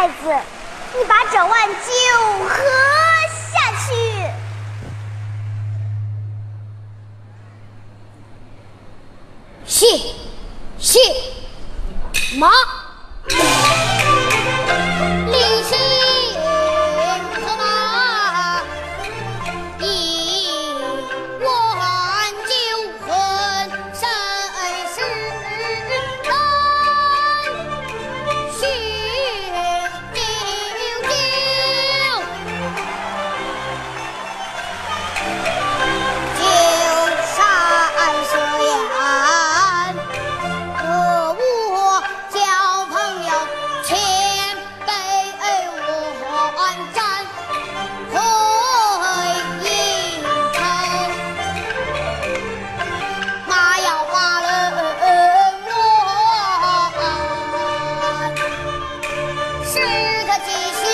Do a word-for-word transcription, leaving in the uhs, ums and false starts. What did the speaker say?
太子，你把这碗酒喝下去。 谢谢马。临行策马，一碗酒混身世人，许九九，九山水岸，和我交朋友，千杯万盏回应城，马要马人乱，是个吉祥。